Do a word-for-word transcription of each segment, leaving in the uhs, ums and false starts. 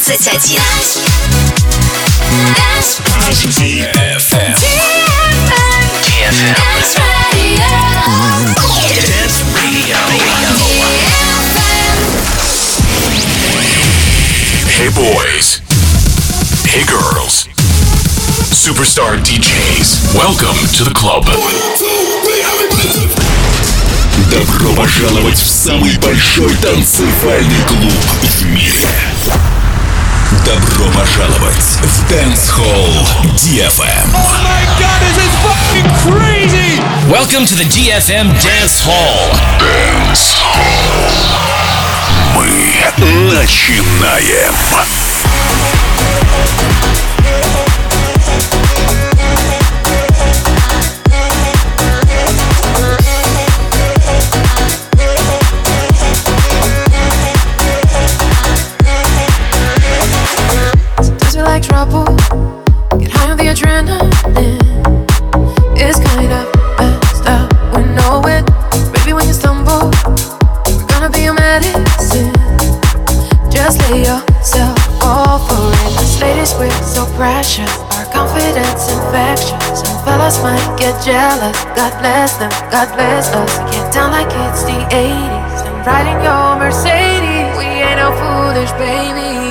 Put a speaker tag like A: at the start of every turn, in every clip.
A: двадцать один.
B: ди эф эм. ди эф эм. Dance Radio. Hey boys. Hey girls. Superstar ди джейс. Welcome to the club.
C: Добро пожаловать в самый большой танцевальный клуб в мире. Добро пожаловать в Dance Hall ди эф эм.
D: Oh my god, this is fucking crazy!
B: Welcome to the ди эф эм Dance Hall.
C: Dance Hall. Мы начинаем.
E: Trouble, get high on the adrenaline. It's kind of messed up, we know it. Baby, when you stumble, we're gonna be your medicine. Just lay yourself all for it. Us ladies, we're so precious, our confidence infectious. Some fellas might get jealous, God bless them, God bless us. Get down like it's the eighties and riding your Mercedes. We ain't no foolish babies.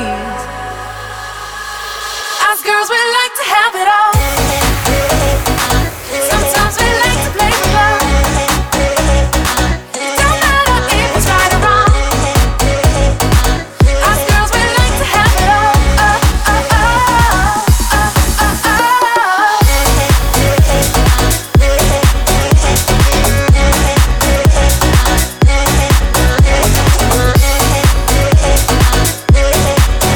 E: Girls, we like to have it all. Sometimes we like to play with love. It don't matter if it's right or wrong. Us girls, we like to have it all. Oh, oh, oh, oh, oh,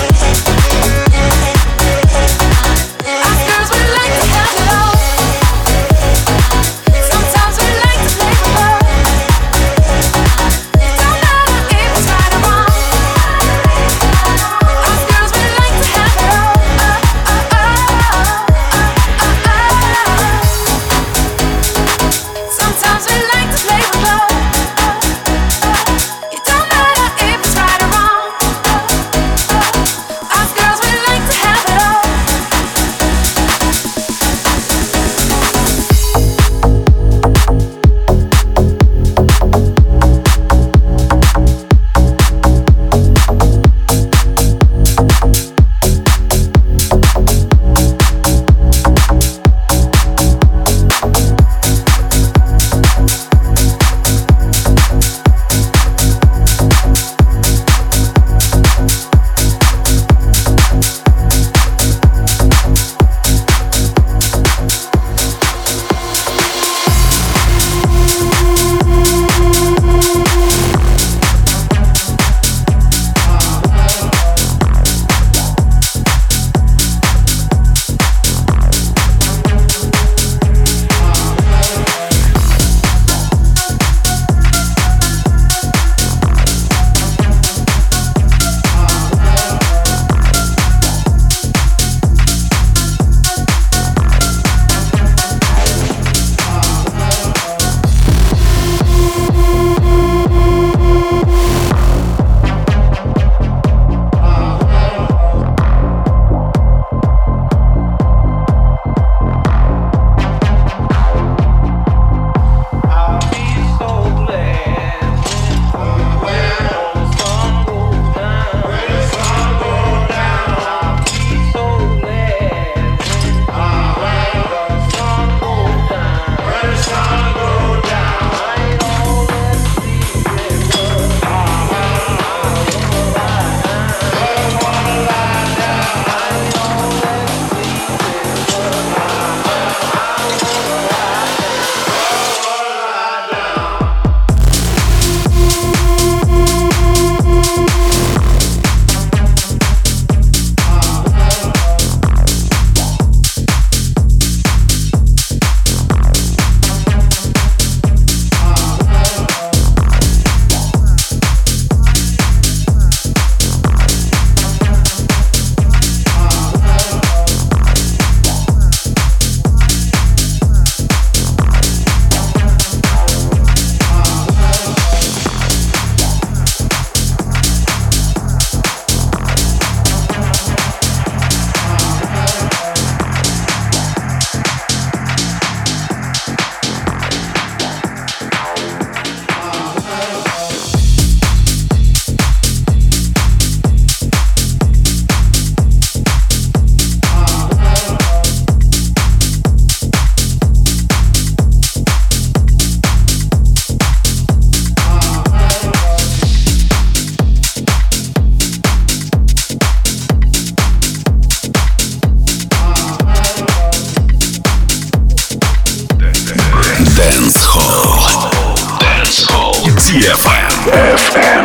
C: эф эм.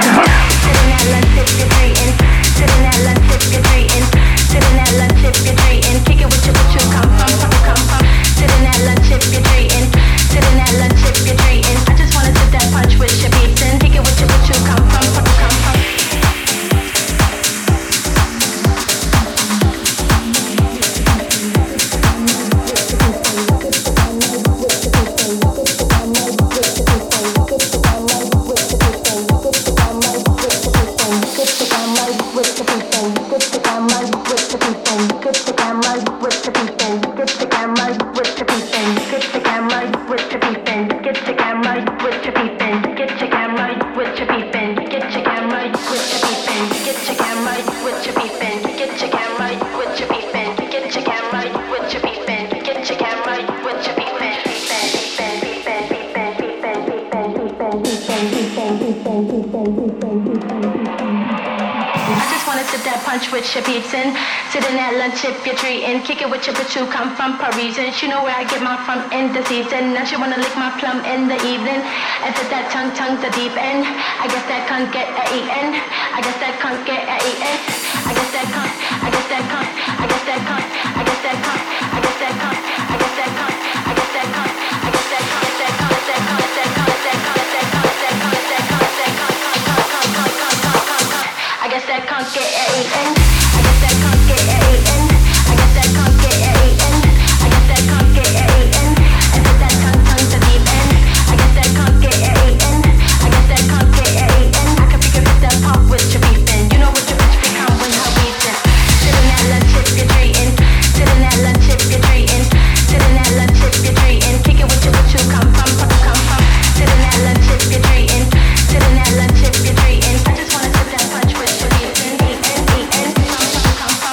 A: You know where I get my from in the season. Now she wanna lick my plum in the evening. And put that tongue, tongue the deep end. I guess that can't get a eaten. I guess that can't get a eaten. I guess that can't. I guess that can't. I guess that can't. I guess that can't. I guess that can't. I guess that can't. I guess that can't. I guess that can't. That can't. That can't. That can't. That can't. That can't. That can't. That can't. I guess that can't get a eaten. I guess that can't get a eaten. I guess that can't get a eaten. That can't get it eaten, and put that tongue, tongue to deep end. I guess that can't get it eaten. I guess that can't get it eaten. I can figure it that pop with your beefing. You know what your bitch become when her eating. Sitting at lunch if you're treating. Sitting at lunch if you're treating. Sitting at lunch if you're treating. Kick it with you, what you come from, what you come from. Sitting at lunch if you're treating. Sitting at lunch if you're treating. I just wanna sit that punch with your beefing. Eating, eating, come from, come from.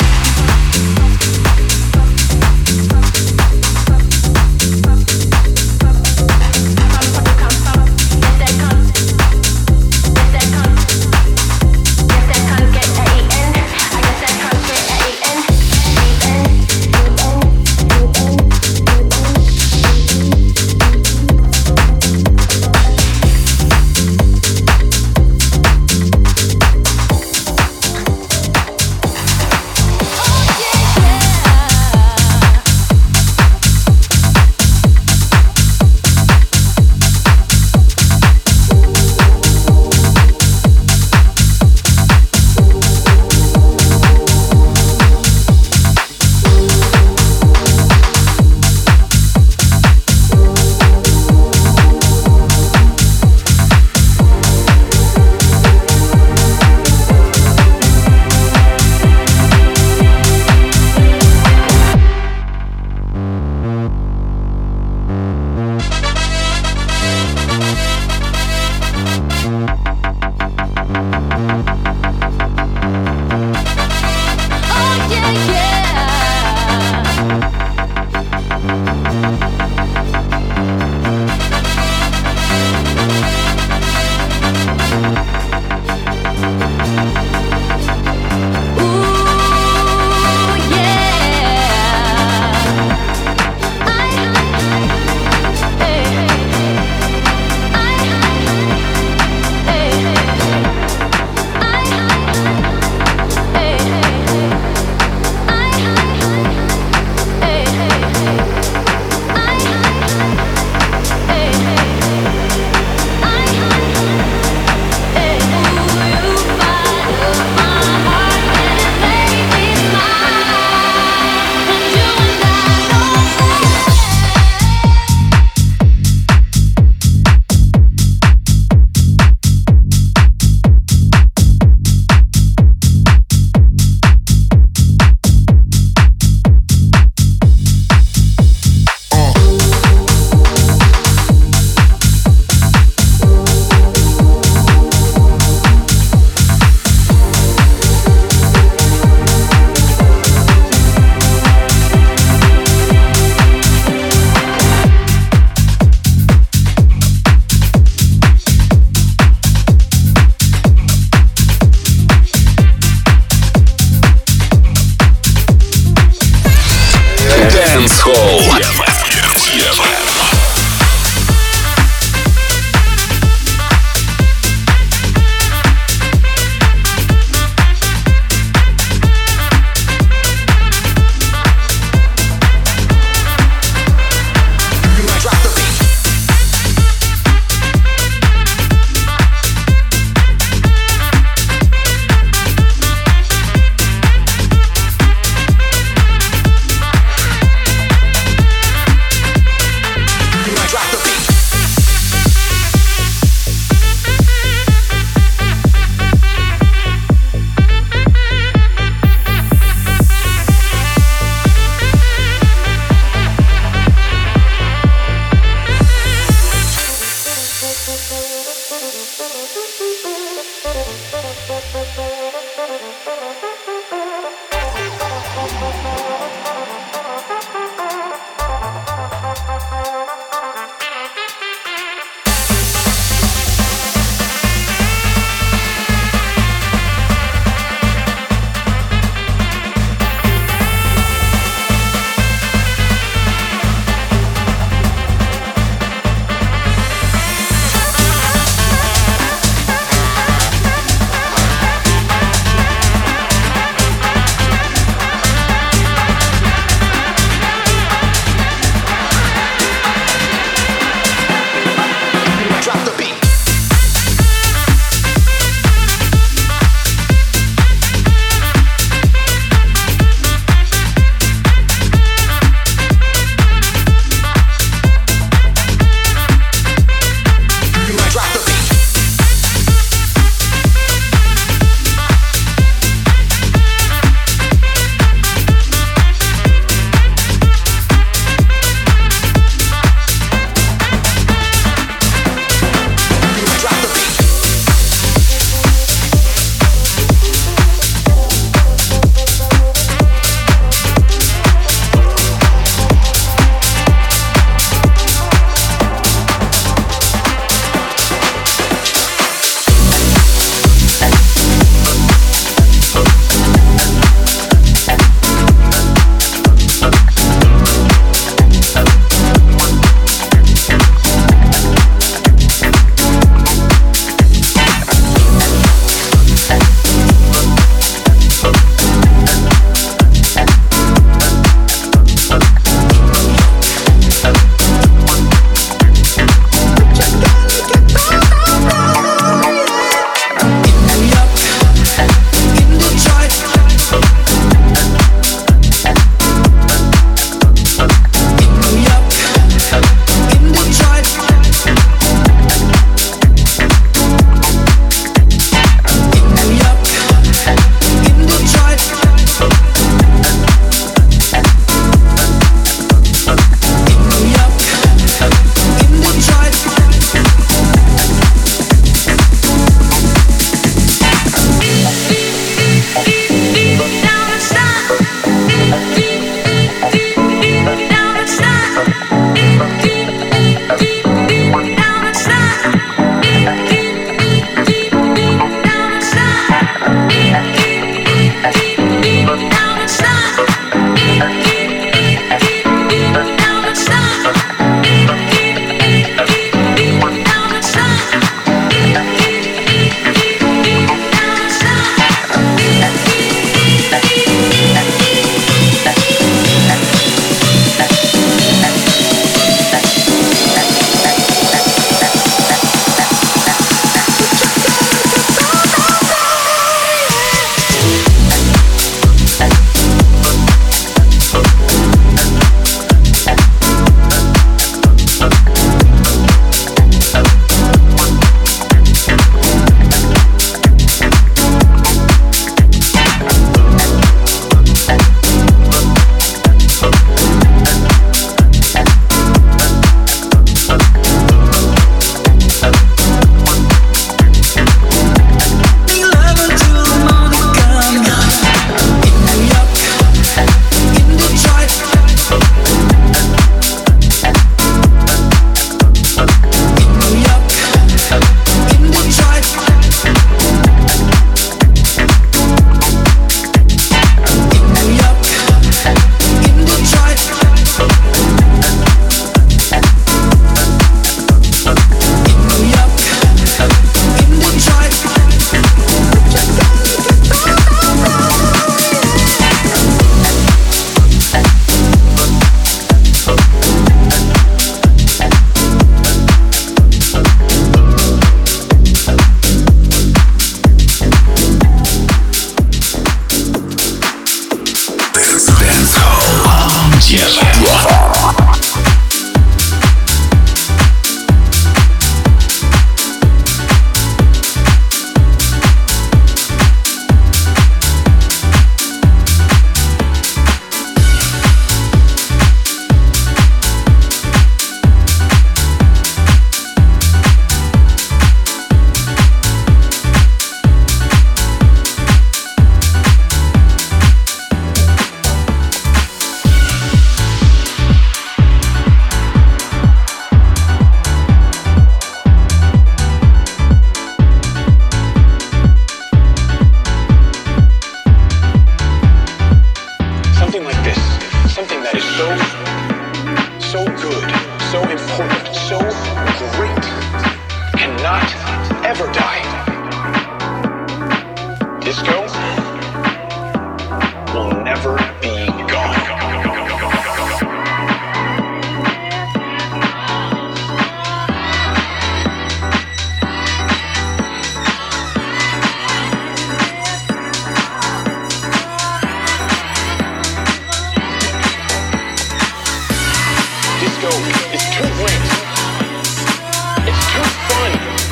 F: joke. It's too great. It's too fun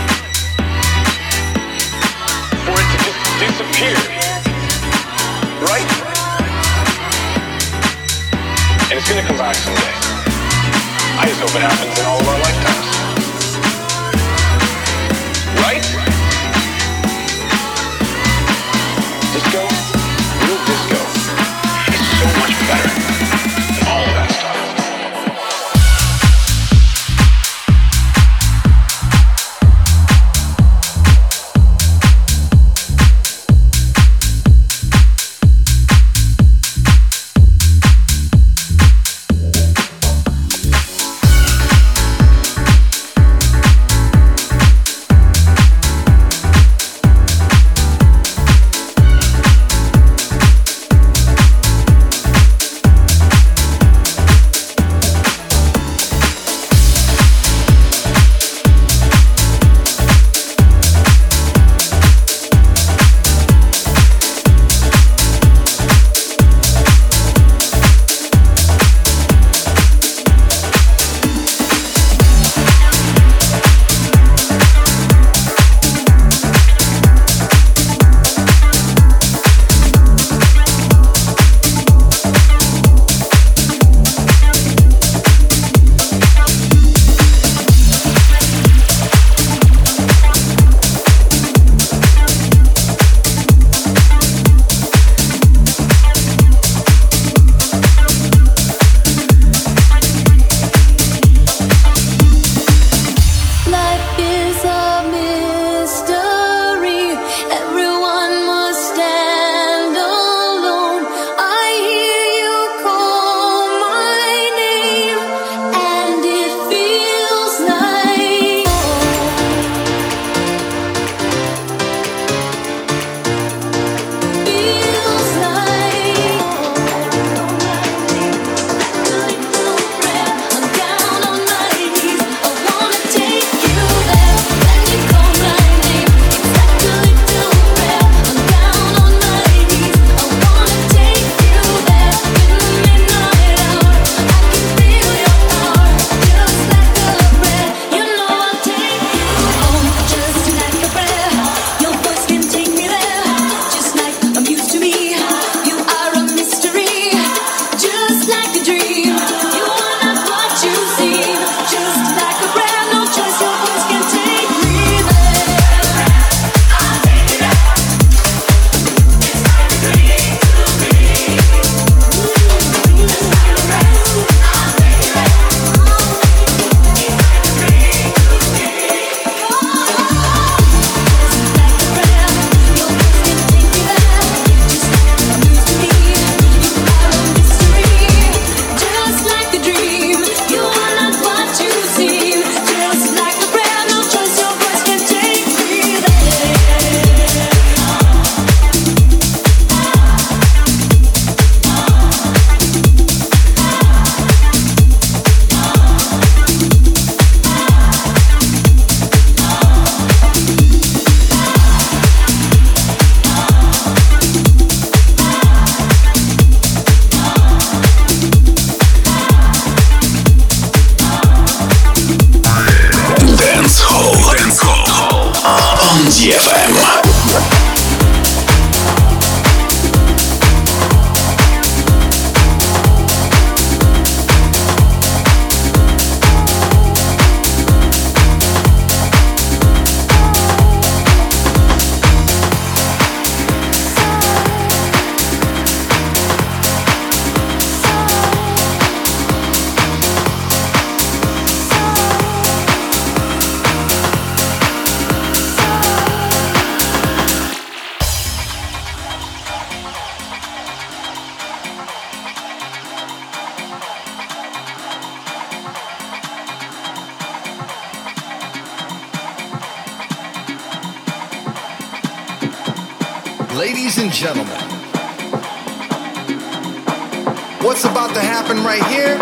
F: for it to just disappear. Right? And it's gonna come back someday. I just hope it happens in all of our lifetimes. Right? Disco, real disco, is so much better than all of that stuff.
G: Ladies and gentlemen, what's about to happen right here?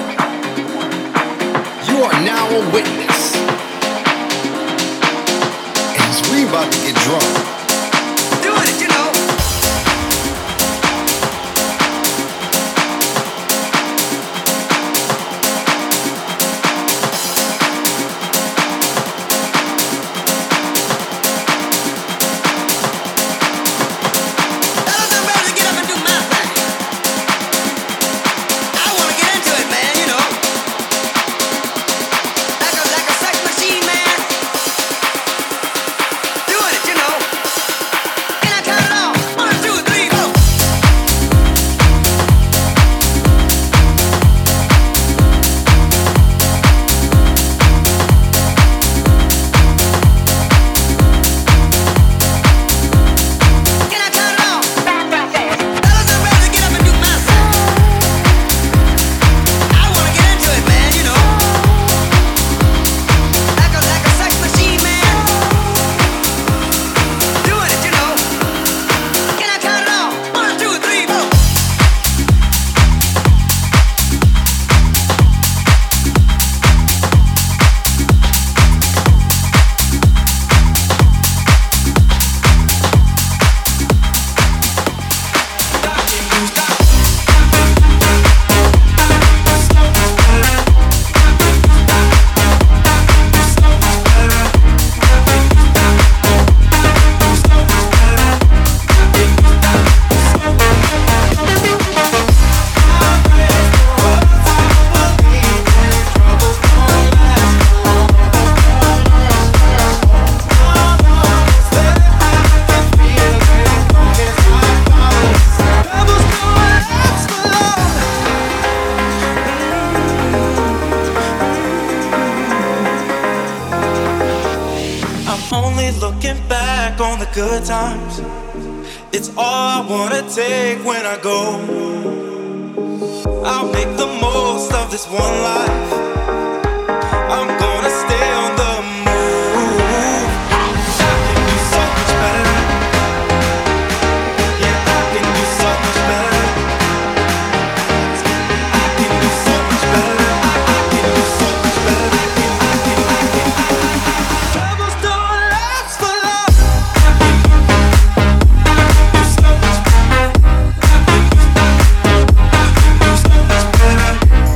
G: You are now a witness. As we about to get drunk. Doing it, you know.
H: looking back on the good times. It's all I wanna take when I go. I'll make the most of this one life. I'm gonna stay on the move. I can do so much better. Yeah, I can do so much better. I can do so much better. I can do so much better. I can, I can, I can. Troubles don't last for long. I can do so much better. I can do so much better.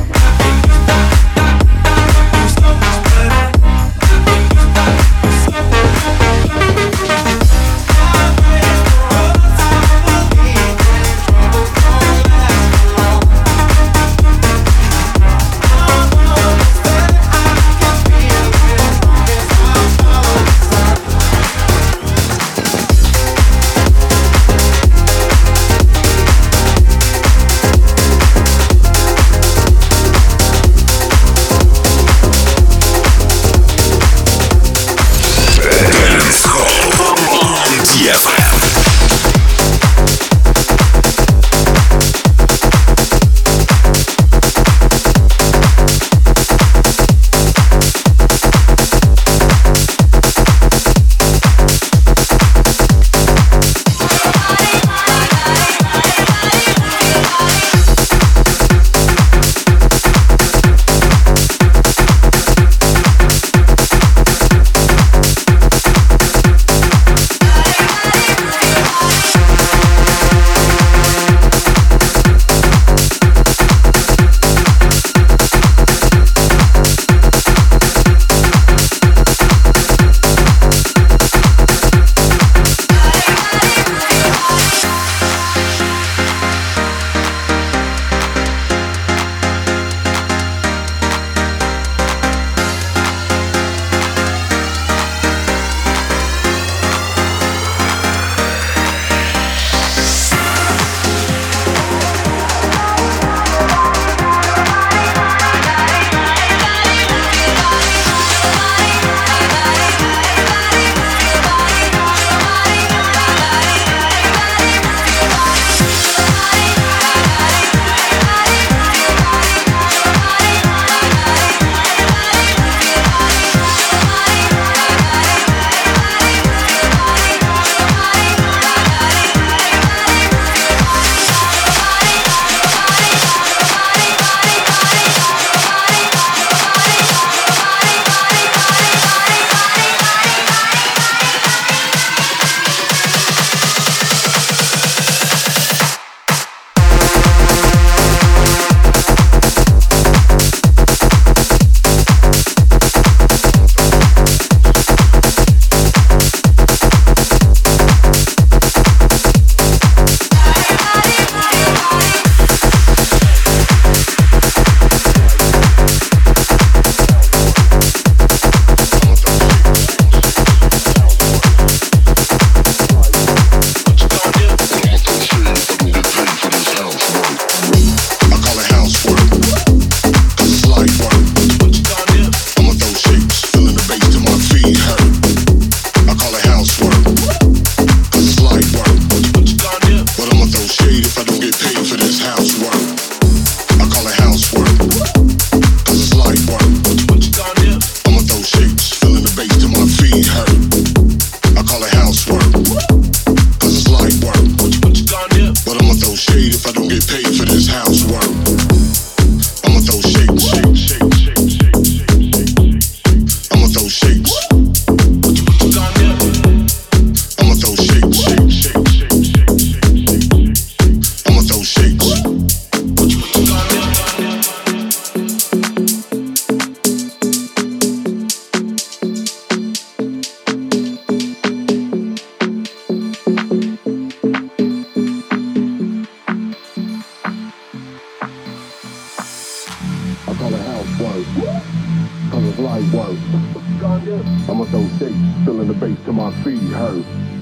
I: I'ma throw shapes, feeling the bass till my feet hurt.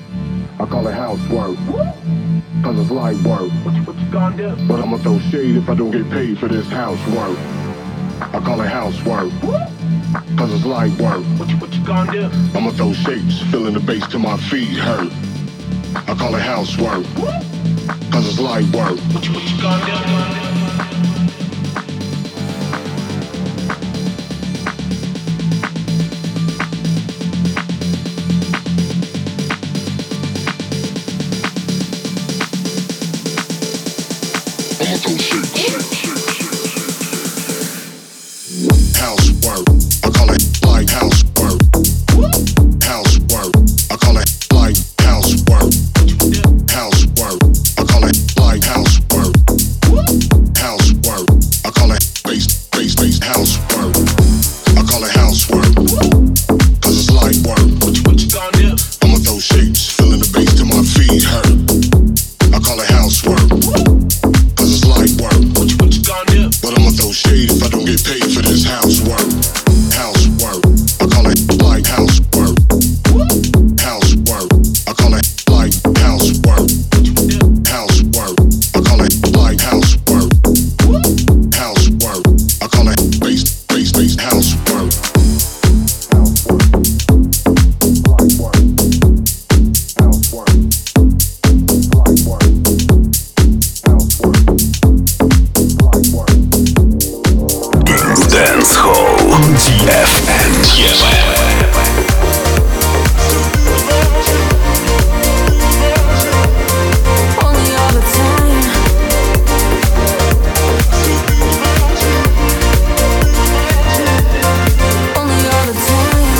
I: I call it housework, cause it's light work. What you gonna do? But I'ma throw shade if I don't get paid for this housework. I call it housework, cause it's light work.
F: What you, what you gonna do?
I: I'ma throw shapes, feeling the bass till my feet hurt. I call it housework, cause it's light work.
F: What you, what you gonna do?
I: Housework, I call it light housework. Housework, I call it light housework. Housework, I call it light housework. Housework, I call it bass, bass, bass housework. I call it housework, cause it's light work.
F: What you, what you gonna do?
I: I'ma throw shapes, feeling the bass till my feet hurt. I call it housework, cause it's light work.
F: What you, what you gonna do?
I: But I'ma throw shade if I don't get paid for this housework. Housework, I call it light housework. Housework, I call it light housework. Housework, I call it light housework. Housework, I call it bass, bass, bass housework.
C: Dance Hall ди эф эм.
E: Only all the time. Only all the time.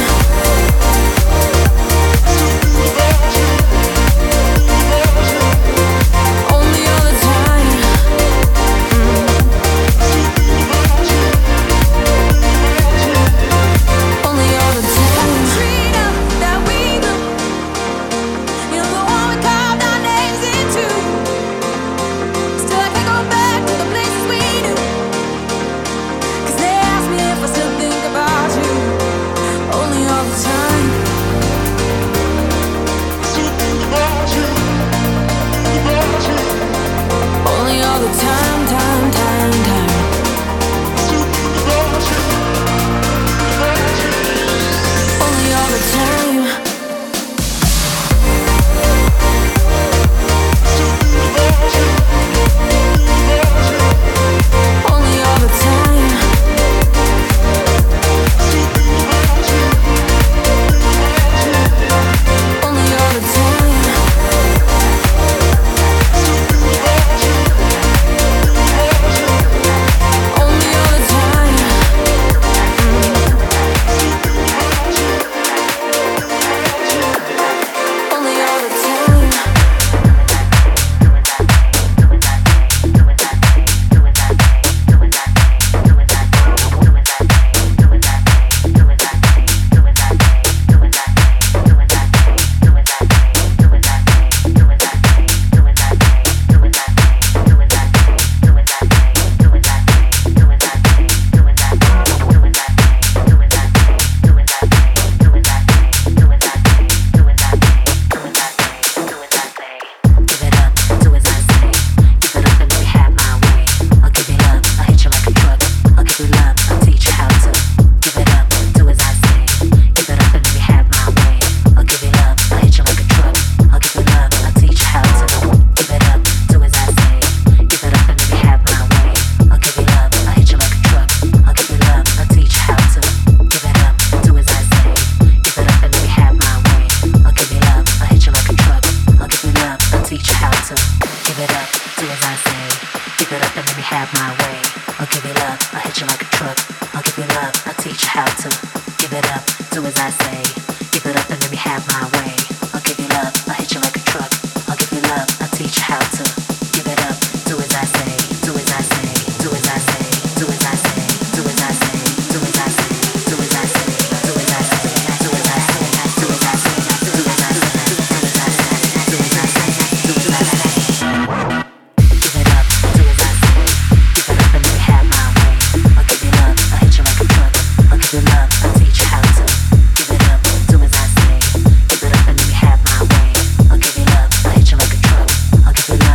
E: Only all the time. Only all the time. Freedom that we know. You're the one we carved our names into. Still I can't go back to the places we knew. 'Cause they ask me if I still think about you. Only all the time. Still think about you. About you. Only all the time, time, time, time. Still think about you. About you. Only all the time. Only all the time. Only all the time. Only all the time. Only all the time. I'll give you love,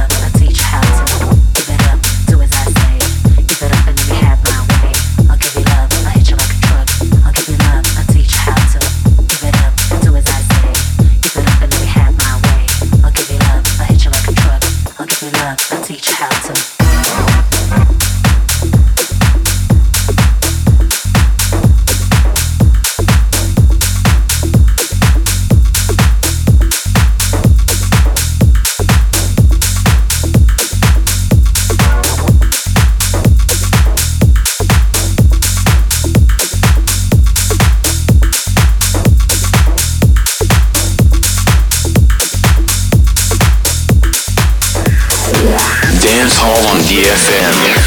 B: эф эм.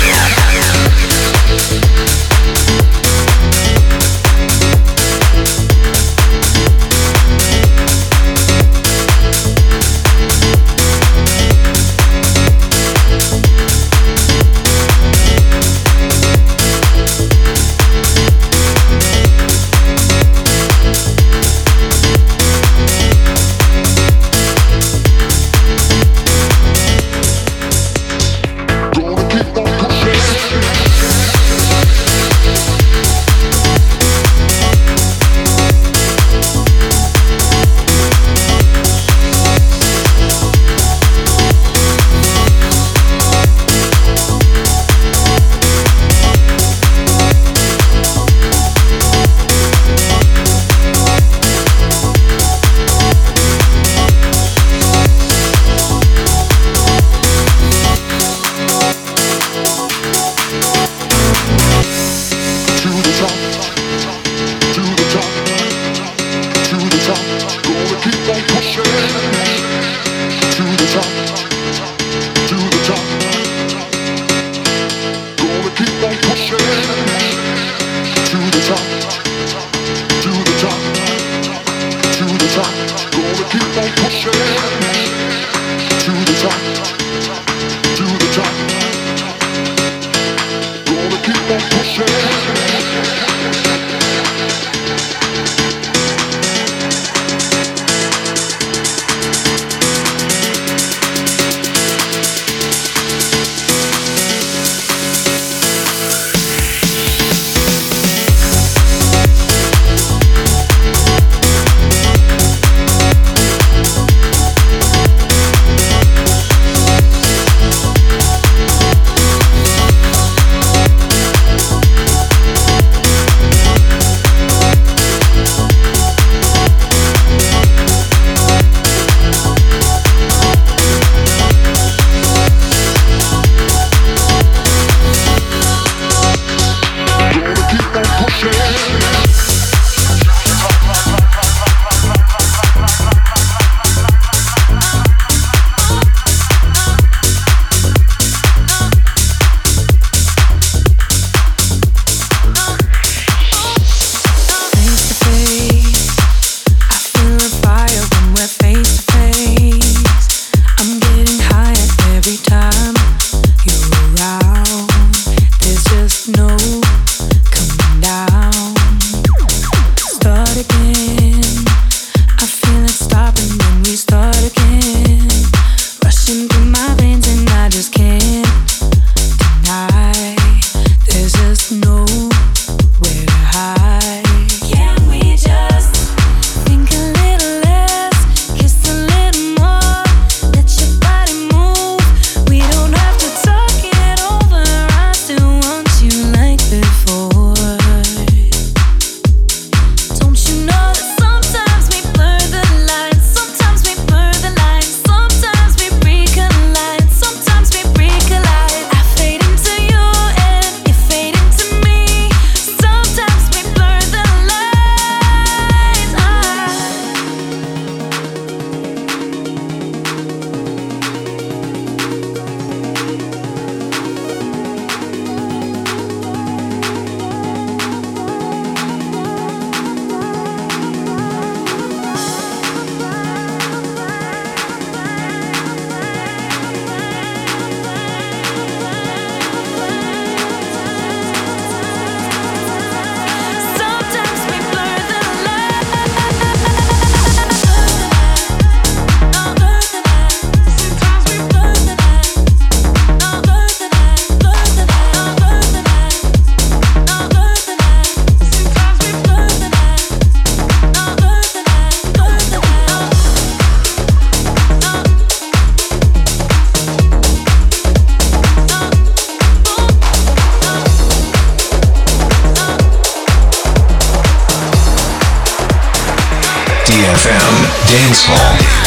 B: D F M Dance Hall.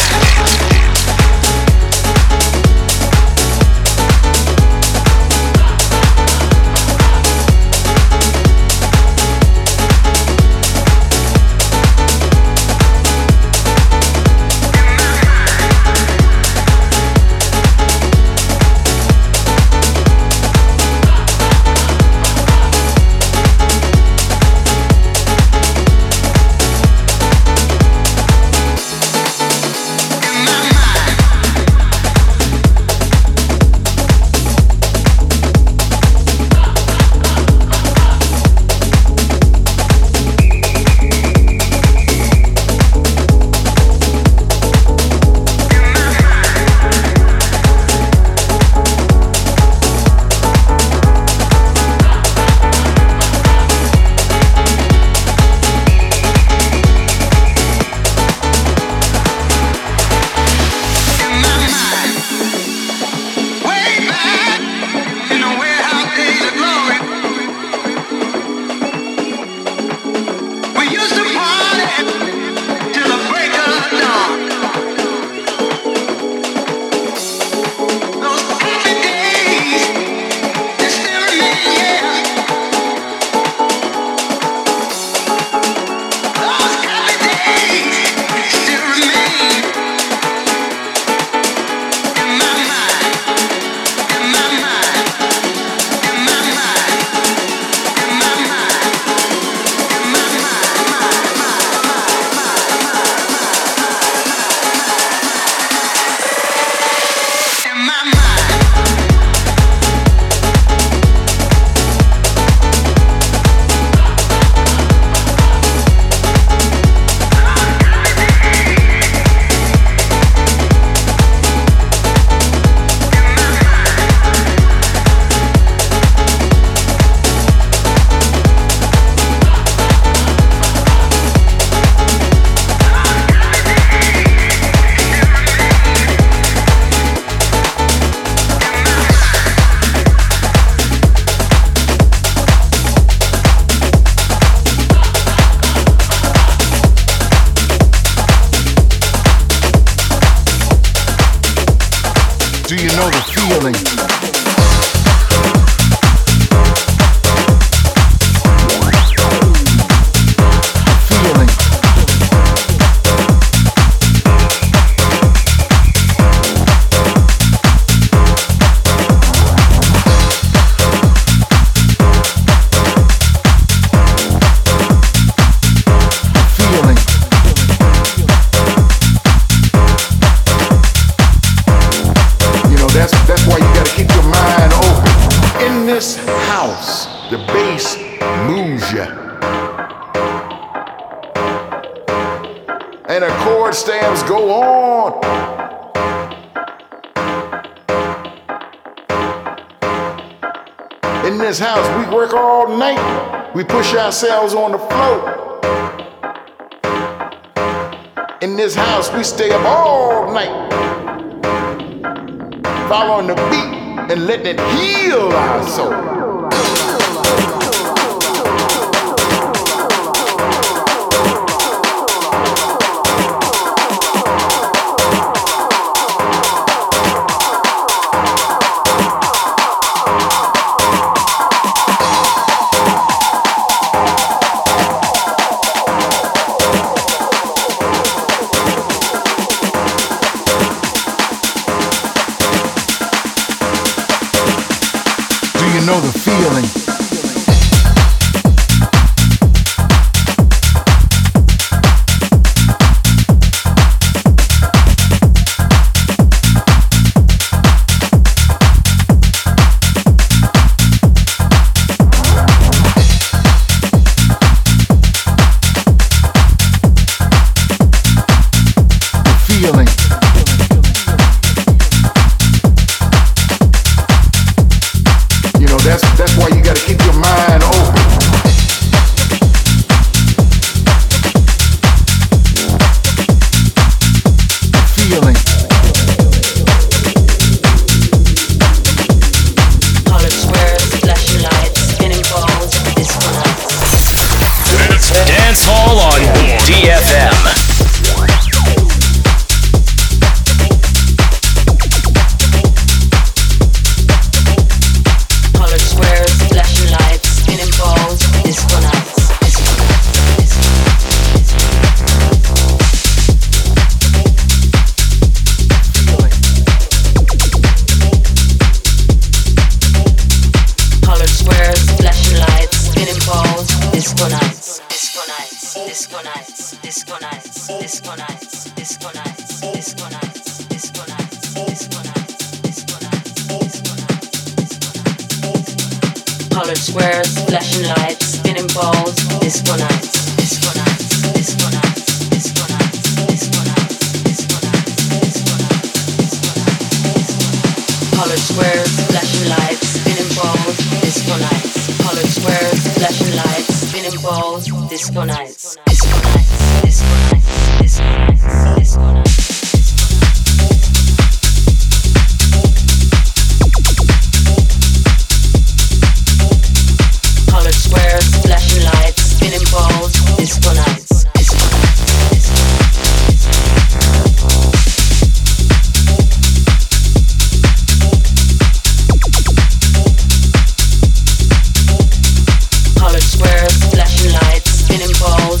I: And the chord stamps go on. In this house, we work all night. We push ourselves on the floor. In this house, we stay up all night, following the beat and letting it heal our soul. Know the feeling. That's, that's why you gotta keep your mind open. Feeling.
J: Colored squares, flashing lights, spinning balls, disco nights.
B: Dance Hall on D F M.
J: Colored squares, flashing lights, spinning balls, disco nights, disco nights, disco nights, disco nights, disco nights, disco nights, disco nights. Colored squares, flashing lights, spinning balls, disco nights. Colored squares, flashing lights, spinning balls, disco nights, disco nights, disco nights, disco nights, disco nights. Squares, flashing lights, spinning balls, disco nights, disco nights, colored squares, flashing lights, spinning balls,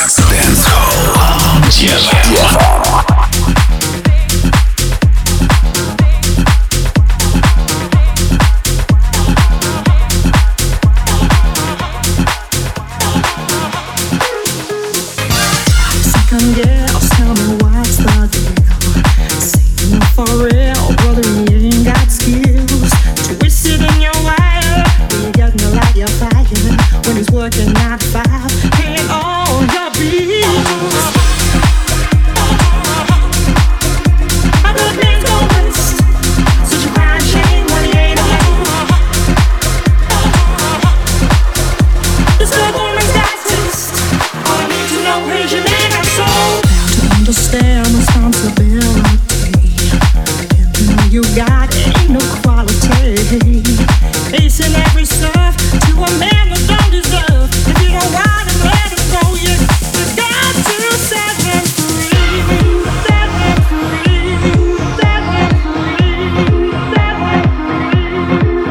C: Dance, Dance Hall. Дефа.
K: Girls, tell me what's the deal? Say no for real, brother, you ain't got skills. Twisted in your wire, you got no light your fire. When he's working nine to five, paying all your bills. My good man's go west, such a fine shame when he ain't around. This good woman's got taste. All I need to know is your name. Understand responsibility. Everything you got ain't no quality. Facing every serve to a man that don't deserve. If you don't want him, let him go. You, you got to set him free. Set him free. Set him free. Set him free.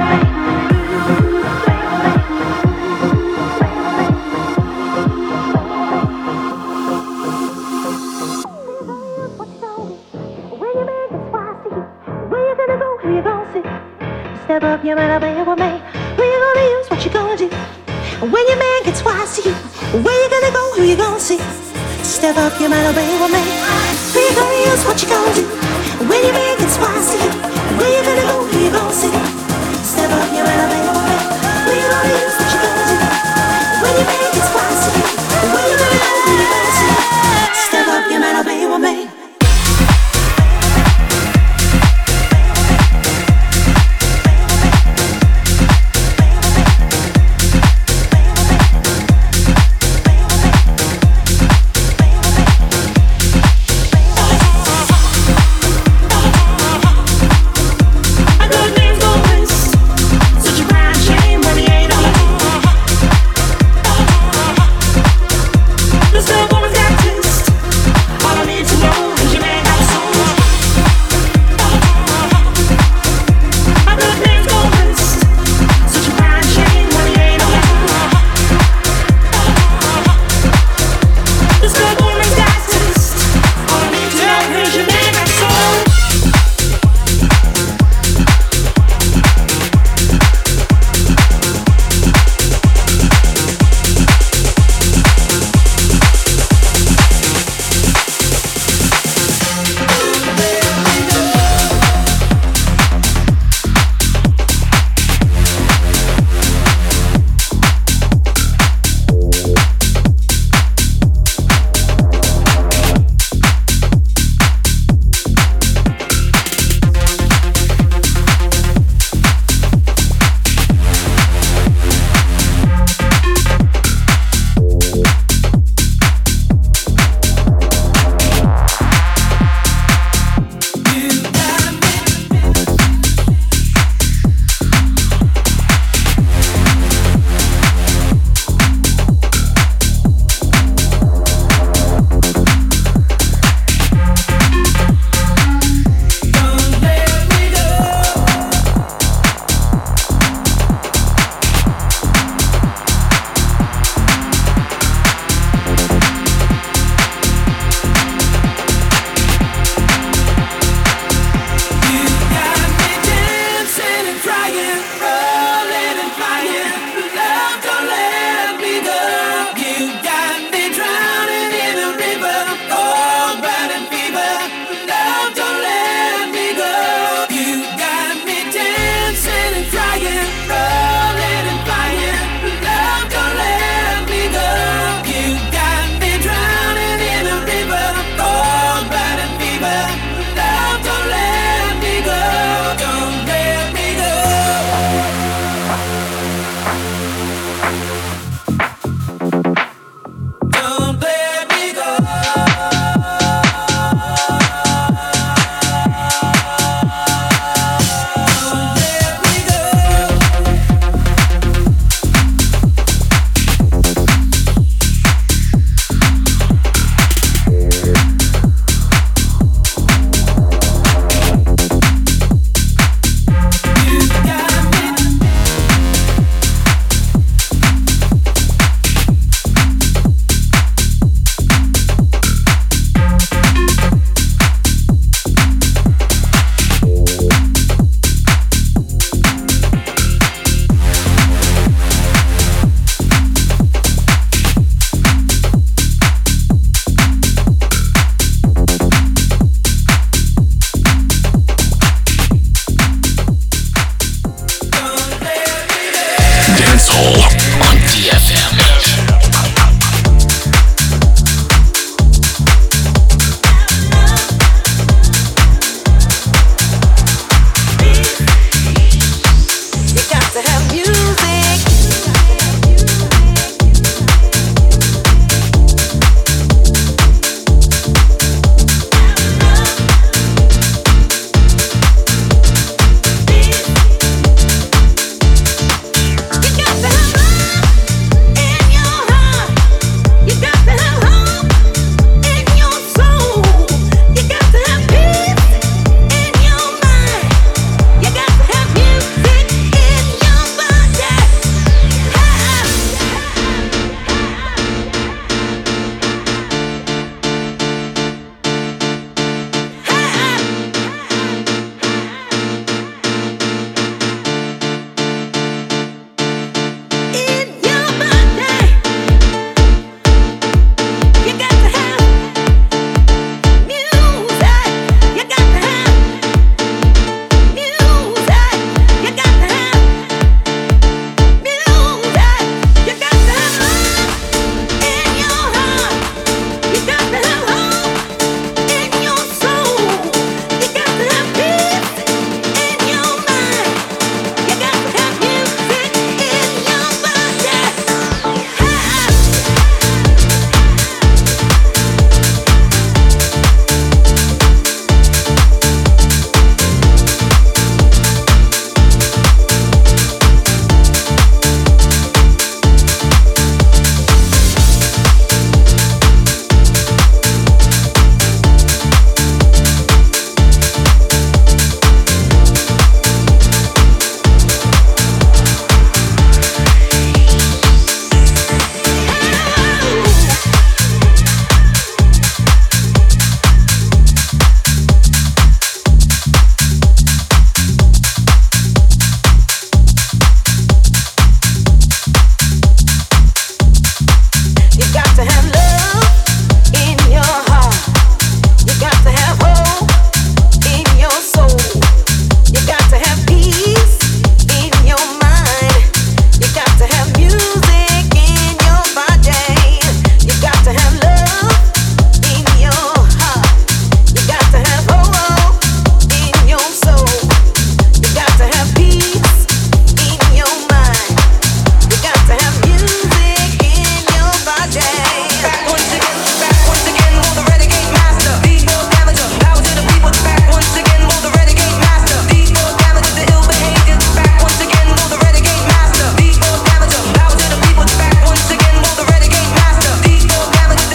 K: Step up, you better be with me. Who you gonna use? What you gonna do? When your man gets wise to you, where you gonna go? Who you gonna see? Step up, you better be with me. Who you gonna use? What you gonna do? When your man gets wise to you, where you gonna go? Who you gonna see? Step up, you better be with me. Who you gonna use? What you gonna do? When your man